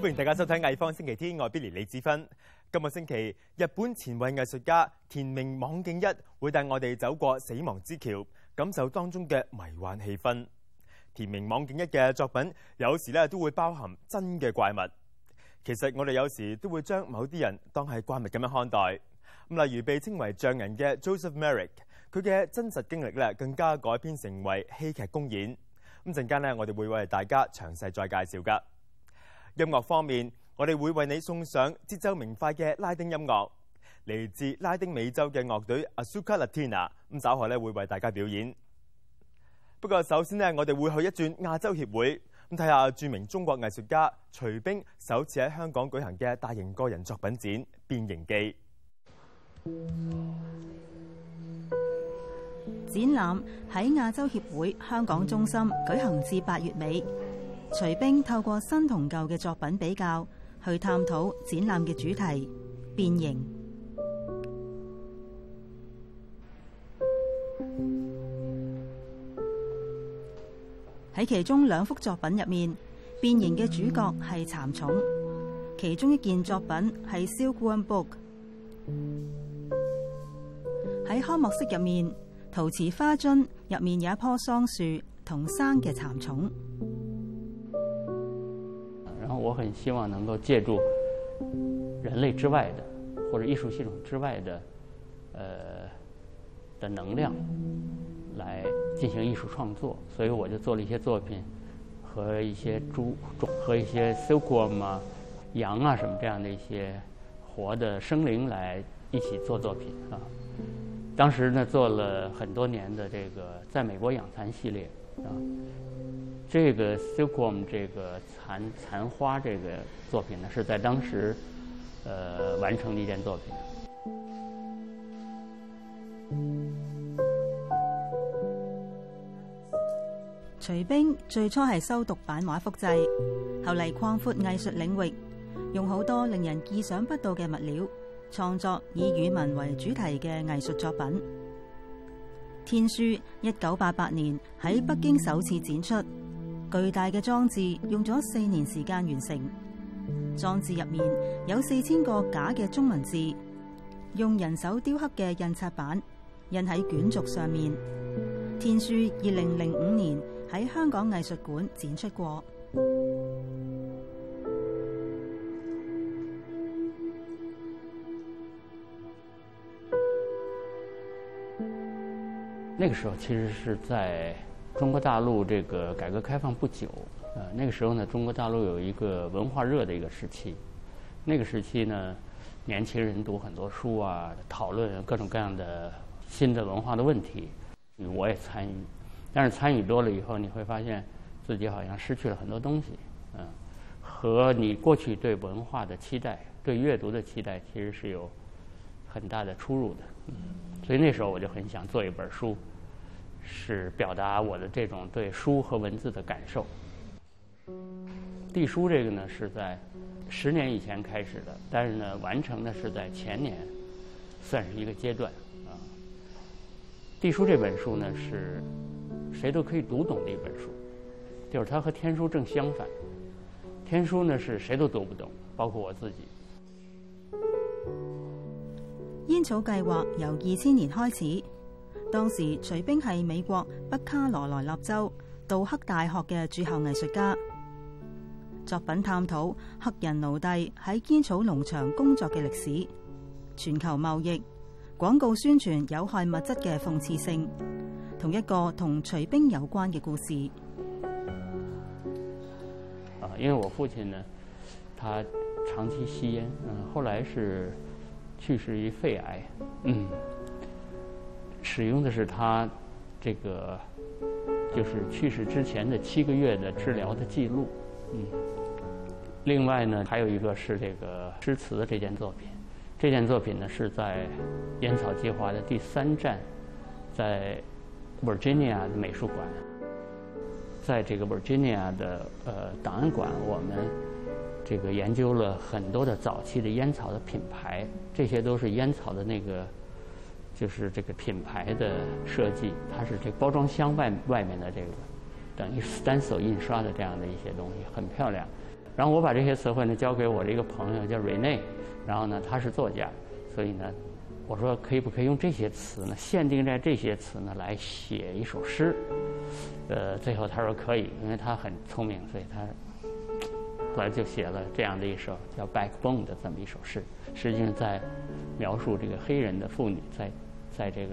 歡迎大家收睇《藝坊星期天》，我係 Billy 李子芬。今個星期，日本前衛藝術家田明網敬一會帶我哋走過死亡之橋，感受當中嘅迷幻氣氛。田明網敬一嘅作品有時咧都會包含真嘅怪物。其實我哋有時都會將某啲人當係怪物咁樣看待。例如被稱為匠人嘅 Joseph Merrick， 佢嘅真實經歷咧更加改編成為戲劇公演。陣間咧，我哋會為大家詳細再介紹㗎。音樂方面，我哋會為你送上節奏明快嘅拉丁音樂，嚟自拉丁美洲嘅樂隊 Azúcar Latina， 稍後咧會為大家表演。不過首先呢，我哋會去一轉亞洲協會，睇下著名中國藝術家徐冰首次喺香港舉行嘅大型個人作品展《變形記》。 展覽喺亞洲協會香港中心舉行至8月尾。徐冰透過新同舊嘅作品比較，去探討展覽嘅主題變形。喺其中2幅作品入面，變形嘅主角係蠶蟲，其中一件作品係 Silkworm Book。喺開幕式入面，陶瓷花樽入面有一棵桑樹同生嘅蠶蟲。 然后我很希望能够借助人类之外的或者艺术系统之外的能量来进行艺术创作，所以我就做了一些作品和一些和一些 silkworm 啊、羊啊什么这样的一些活的生灵来一起做作品啊。当时呢做了很多年的这个在美国养蚕系列啊。这个 silkworm 这个蚕花这个作品呢，是在当时完成的一件作品。 徐冰最初係修讀版畫複製，後嚟擴闊藝術領域，用好多令人意想不到嘅物料，創作以語文為主題嘅藝術作品。天書1988年喺北京首次展出。巨大嘅裝置用咗4年時間完成，裝置入面有4000個假嘅中文字，用人手雕刻嘅印刷版印喺卷軸上面。天書2005年喺香港藝術館展出過。 那個時候其實是在中國大陸這個改革開放不久，那個時候呢，中國大陸有一個文化熱的一個時期。那個時期呢，年輕人讀很多書啊，討論各種各樣的新的文化的問題，我也參與。但是參與多了以後，你會發現自己好像失去了很多東西，和你過去對文化的期待、對閱讀的期待，其實是有很大的出入的。所以那時候我就很想做一本書。是表達我的這種對書和文字的感受。地書這個呢是在10年以前開始的，但是呢完成的是在前年，算是一個階段啊。地書這本書呢是誰都可以讀懂的一本書，就是它和天書正相反。天書呢是誰都讀不懂，包括我自己。 煙草計劃由2000年開始。當時徐冰係美國北卡羅來納州杜克大學嘅駐校藝術家，作品探討黑人奴隸喺煙草農場工作嘅歷史、全球貿易、廣告宣傳有害物質嘅諷刺性，同一個同徐冰有關嘅故事。 因為我父親呢，他長期吸煙，後來是去世於肺癌，使用的是他這個就是去世之前的7個月的治療的記錄。另外呢，還有一個是這個詩詞的這件作品。這件作品呢是在煙草計劃的第3站，在 Virginia 的美術館。在這個 Virginia 的檔案館，我們這個研究了很多的早期的煙草的品牌，這些都是煙草的那個。就是這個品牌的設計，它是這個包裝箱外面的這個等於 stencil 印刷的這樣的一些東西，很漂亮。 然后我把这些词汇呢交给我的一个朋友叫瑞内，然后呢他是作家，所以呢我说可不可以用这些词呢，限定在这些词呢来写一首诗？最后他说可以，因为他很聪明，所以他后来就写了这样的一首叫《Backbone》的这么一首诗，实际上在描述这个黑人的妇女在这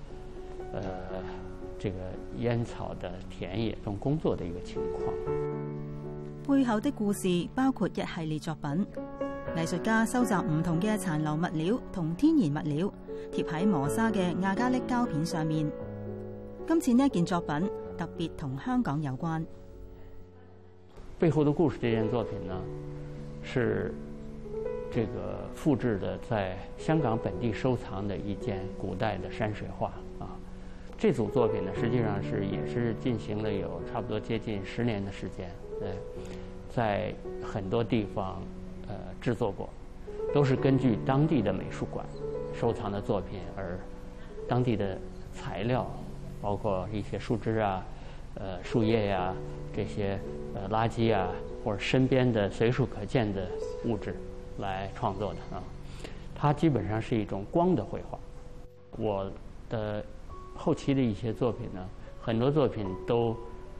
个烟草的田野中工作的一个情况。 背後的故事包括一系列作品，藝術家收集唔同嘅殘留物料同天然物料，貼喺磨砂嘅亞加力膠片上面。今次呢件作品特別同香港有關。 背後的故事這件作品呢，是這個複製的在香港本地收藏的一件古代的山水畫啊。這組作品呢，實際上也是進行了有差不多接近10年的時間，在很多地方製作過，都是根據當地的美術館收藏的作品，而當地的材料，包括一些樹枝啊、樹葉呀、這些垃圾啊，或者身邊的隨處可見的物質來創作的啊。它基本上是一種光的繪畫。我的後期的一些作品呢，很多作品都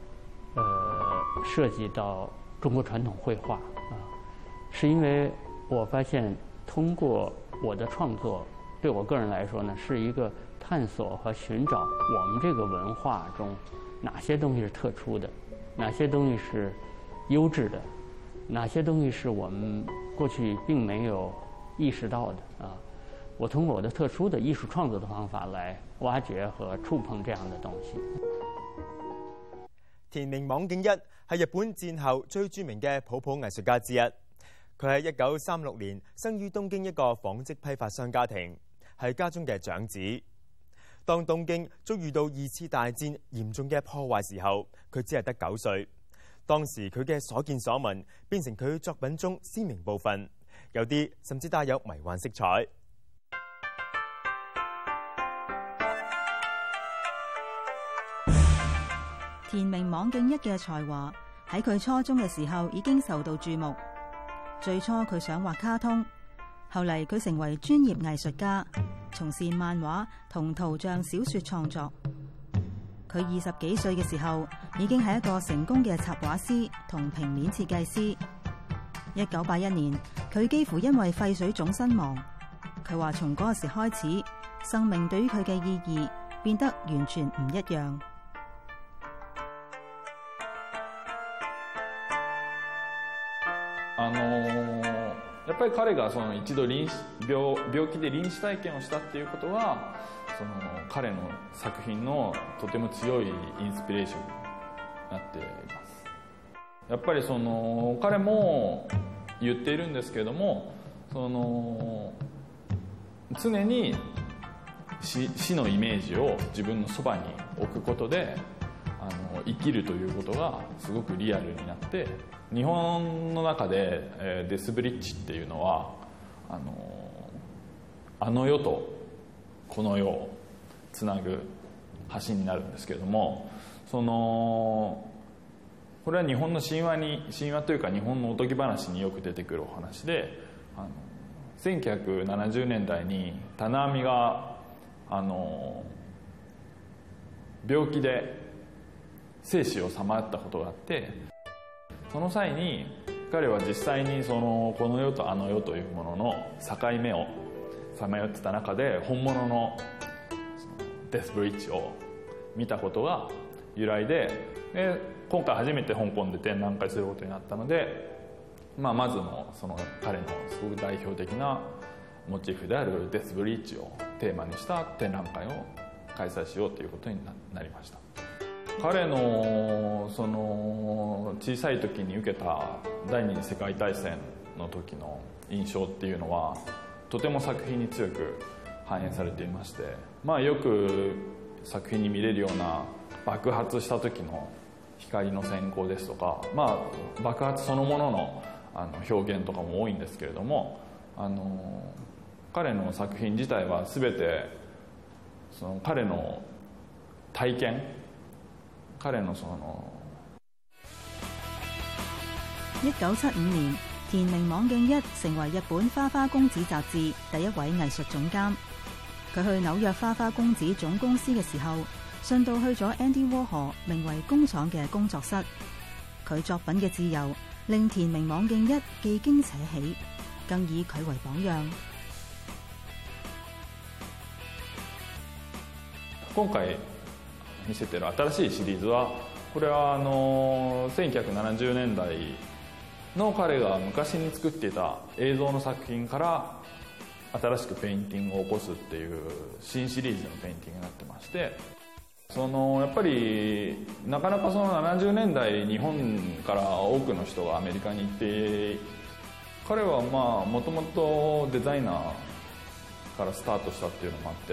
涉及到中國傳統繪畫啊，是因為我發現通過我的創作，對我個人來說呢，是一個探索和尋找我們這個文化中哪些東西是特殊的，哪些東西是優質的，哪些東西是我們過去並沒有意識到的啊。我通過我的特殊的藝術創作的方法來挖掘和觸碰這樣的東西。 田明網景一係日本戰後最著名嘅普普藝術家之一。佢喺1936年生於東京一個紡織批發商家庭，係家中嘅長子。當東京遭遇到2次大戰嚴重嘅破壞時候，佢只係得9歲。當時佢嘅所見所聞變成佢作品中鮮明部分，有啲甚至帶有迷幻色彩。 田明網景一嘅才華喺佢初中嘅時候已經受到注目。最初佢想畫卡通，後嚟佢成為專業藝術家，從事漫畫同圖像小說創作。佢20幾歲嘅時候已經係一個成功嘅插畫師同平面設計師。1981年，佢幾乎因為肺水腫身亡。佢話從嗰時開始，生命對於佢嘅意義變得完全唔一樣。 やっぱり彼がその一度病気で臨死体験をしたっていうことはその彼の作品のとても強いインスピレーションになっています。やっぱりその彼も言っているんですけれども、その常に死のイメージを自分のそばに置くことで生きるということがすごくリアルになって、日本の中でデスブリッジっていうのはあの世とこの世をつなぐ橋になるんですけれども、そのこれは日本の神話というか日本のおとぎ話によく出てくるお話で、1970年代に棚網が病気で生死をさまよったことがあって、その際に彼は実際にこの世とあの世というものの境目をさまよってた中で本物のデスブリッジを見たことが由来で、今回初めて香港で展覧会することになったので、まず彼のすごく代表的なモチーフであるデスブリッジをテーマにした展覧会を開催しようということになりました。彼の小さい時に受けた第二次世界大戦の時の印象っていうのはとても作品に強く反映されていまして、よく作品に見れるような爆発した時の光の閃光ですとか、爆発そのものの表現とかも多いんですけれども、彼の作品自体は全て彼の体験、彼の 1975年，田明網敬一成為日本花花公子雜誌第一位藝術總監。佢去紐約花花公子總公司嘅時候，順道去咗 Andy Warhol 名為工廠嘅工作室。佢作品嘅自由令田明網敬一既驚且喜，更以佢為榜樣。 今回見せてる新しいシリーズは、これは1970年代の彼が昔に作っていた映像の作品から新しくペインティングを起こすっていう新シリーズのペインティングになってまして、やっぱりなかなかその70年代日本から多くの人がアメリカに行って、彼はもともとデザイナーからスタートしたっていうのもあって、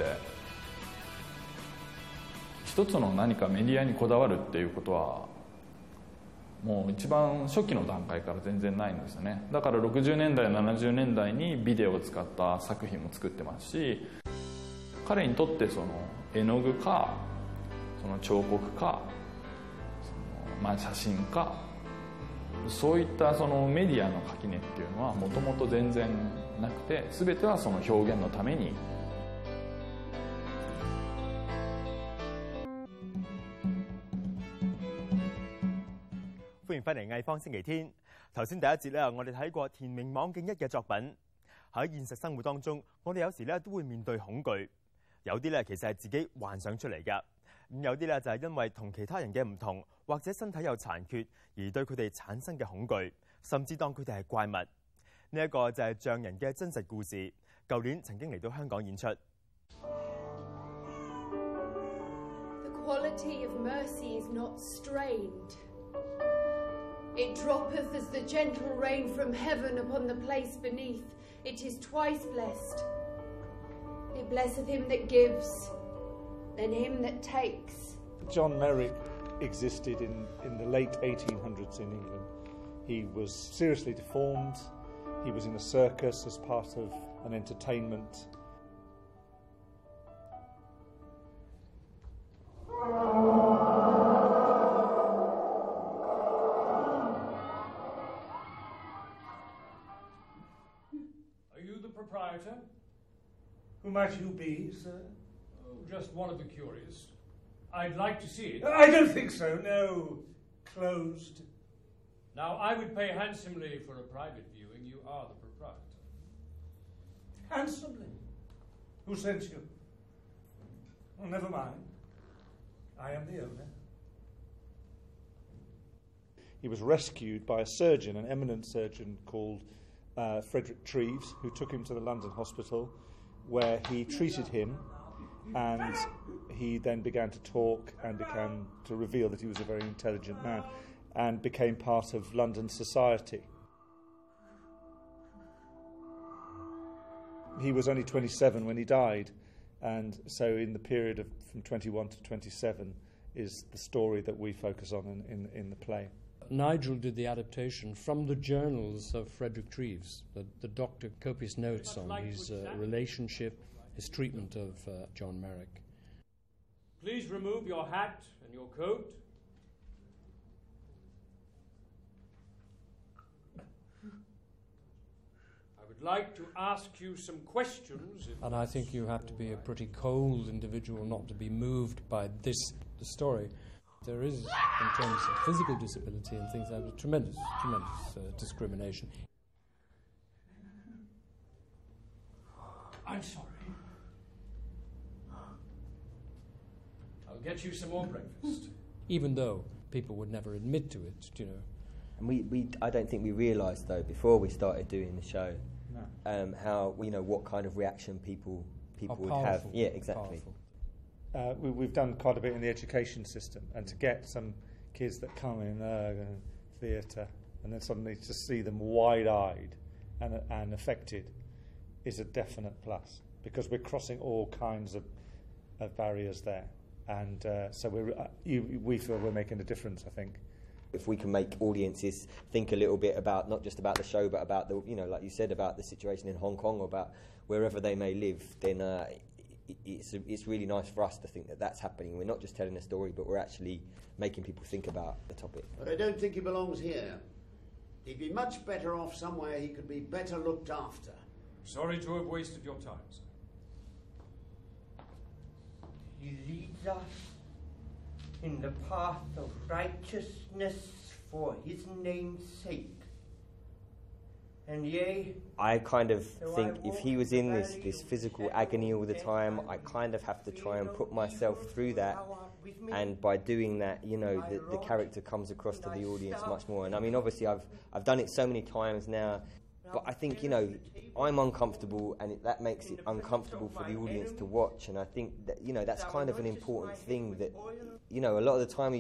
一つの何かメディアにこだわるっていうことはもう一番初期の段階から全然ないんですよね。だから60年代70年代にビデオを使った作品も作ってますし、彼にとってその絵の具かその彫刻か写真か、そういったそのメディアの垣根っていうのはもともと全然なくて、全てはその表現のために。 歡迎翻嚟藝方星期天。頭先第一節咧，我哋睇過田明網敬一嘅作品。喺現實生活當中，我哋有時咧都會面對恐懼，有啲咧其實係自己幻想出嚟㗎。咁有啲咧就係因為同其他人嘅唔同，或者身體有殘缺而對佢哋產生嘅恐懼，甚至當佢哋係怪物。呢一個就係匠人嘅真實故事。舊年曾經嚟到香港演出。 The quality of mercy is not strained. It droppeth as the gentle rain from heaven upon the place beneath. It is twice blessed. It blesseth him that gives, then him that takes. John Merrick existed in the late 1800s in England. He was seriously deformed. He was in a circus as part of an entertainment. Proprietor? Who might you be, sir? Oh, just one of the curious. I'd like to see it. I don't think so, no. Closed. Now, I would pay handsomely for a private viewing. You are the proprietor. Handsomely? Who sent you? Well, never mind. I am the owner. He was rescued by a surgeon, an eminent surgeon called Frederick Treves, who took him to the London hospital, where he treated him, and he then began to talk and began to reveal that he was a very intelligent man, and became part of London society. He was only 27 when he died, and so in the period of from 21 to 27 is the story that we focus on in the play. Nigel did the adaptation from the journals of Frederick Treves. The doctor copious notes on his relationship, his treatment of John Merrick. Please remove your hat and your coat. I would like to ask you some questions. And I think you have to be a pretty cold individual not to be moved by the story. There is, in terms of physical disability and things like that, tremendous discrimination. I'm sorry. I'll get you some more breakfast. Even though people would never admit to it, you know. And I don't think we realised, though, before we started doing the show, how, what kind of reaction people would have. Yeah, exactly. Powerful. We've done quite a bit in the education system, and to get some kids that come in theatre and then suddenly to see them wide-eyed and affected is a definite plus, because we're crossing all kinds of barriers there, and so we feel we're making a difference, I think. If we can make audiences think a little bit about not just about the show, but about the, like you said, about the situation in Hong Kong or about wherever they may live, then it's really nice for us to think that that's happening. We're not just telling a story, but we're actually making people think about the topic. But I don't think he belongs here. He'd be much better off somewhere he could be better looked after. Sorry to have wasted your time, sir. He leads us in the path of righteousness for his name's sake. And yea, I kind of think if he was in this physical agony all the time, I kind of have to try and put myself through that. And by doing that, you know, the character comes across to the audience much more. And I mean, obviously, I've done it so many times now, but I think, you know, I'm uncomfortable, and that makes it uncomfortable for the audience to watch. And I think that, you know, that's kind of an important thing that, you know, a lot of the time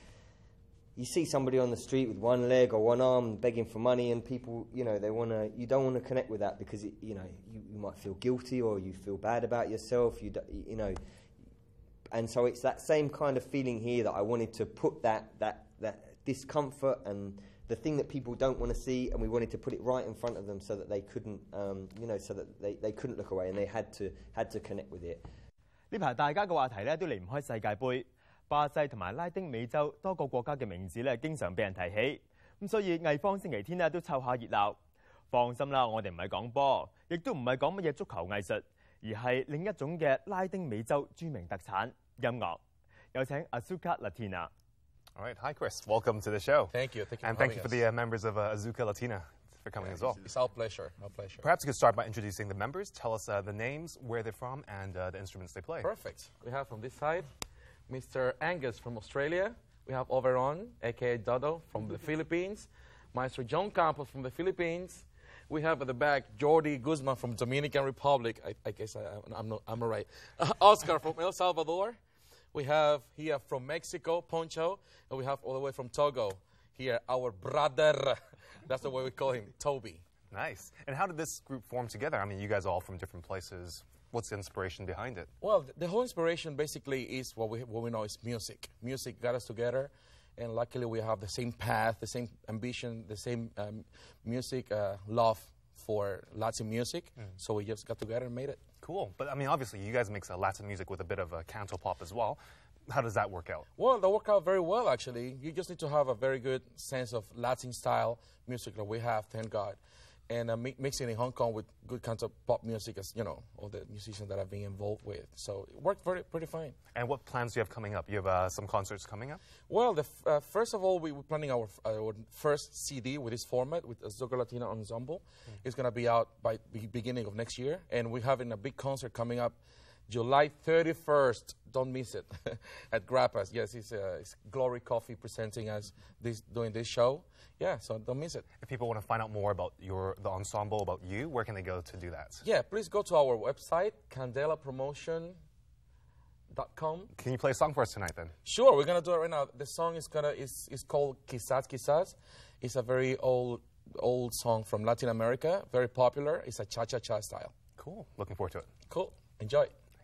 you see somebody on the street with one leg or one arm begging for money, and people, you know, you don't want to connect with that because, you know, you might feel guilty or you feel bad about yourself, you know. And so it's that same kind of feeling here that I wanted to put that discomfort and the thing that people don't want to see, and we wanted to put it right in front of them so that they couldn't, you know, so that they couldn't look away, and they had to connect with it. 呢排大家嘅話題咧都離唔開世界盃，巴西同埋拉丁美洲多個國家嘅名字咧經常被人提起，咁所以藝方星期天咧都湊下熱鬧。放心啦，我哋唔係講波，亦都唔係講乜嘢足球藝術，而係另一種嘅拉丁美洲著名特產音樂。有請 Azuka Latina。 All right, hi Chris, welcome to the show. Thank you, and thank you for the members of Azuka Latina for coming as well. It's our pleasure, our pleasure. Perhaps you could start by introducing the members. Tell us the names, where they're from, and the instruments they play. Perfect. We have from this side, Mr. Angus from Australia. We have Overon, aka Dodo, from the Philippines. Maestro John Campos from the Philippines. We have at the back Jordi Guzman from Dominican Republic. I guess I'm not right. Oscar from El Salvador. We have here from Mexico, Poncho, and we have all the way from Togo. Here, our brother. That's the way we call him, Toby. Nice. And how did this group form together? I mean, you guys are all from different places. What's the inspiration behind it? Well, the whole inspiration basically is what we know is music. Music got us together, and luckily we have the same path, the same ambition, the same music love for Latin music. So we just got together and made it. Cool. But I mean, obviously, you guys mix Latin music with a bit of a canto pop as well. How does that work out? Well, that worked out very well, actually. You just need to have a very good sense of Latin style music that we have, thank God. And mixing in Hong Kong with good canto pop music, as you know, all the musicians that I've been involved with. So it worked pretty fine. And what plans do you have coming up? You have some concerts coming up? Well, first of all, we're planning our first CD with this format, with Azuka Latina Ensemble. It's going to be out by the beginning of next year. And we're having a big concert coming up July 31st. Don't miss it. At Grappas. Yes, it's Glory Coffee presenting us doing this show. Yeah, so don't miss it. If people want to find out more about the ensemble, about you, where can they go to do that? Yeah, please go to our website, candelapromotion.com. Can you play a song for us tonight, then? Sure, we're going to do it right now. The song is called Quizás Quizás. It's a very old song from Latin America, very popular. It's a cha-cha-cha style. Cool. Looking forward to it. Cool. Enjoy.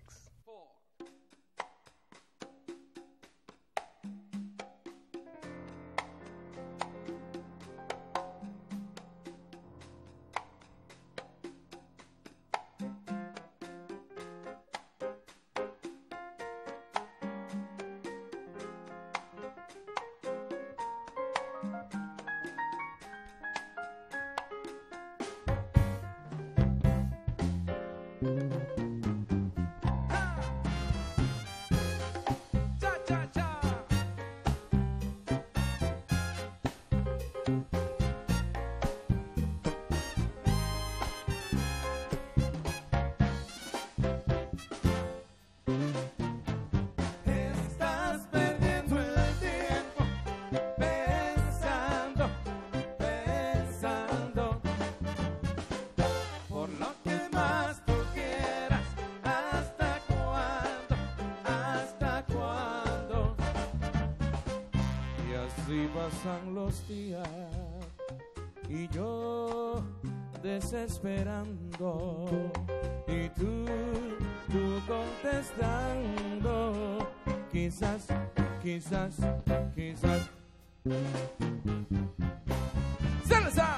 Pasan los días y yo desesperando y tú contestando quizás, quizás, quizás. ¡Salsa!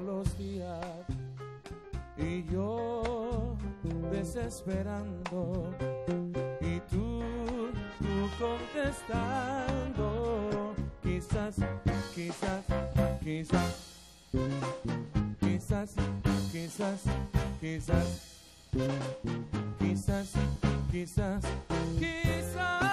pasan los días y yo desesperando y tú contestando. Quizás, quizás, quizás, quizás, quizás, quizás, quizás, quizás, quizás.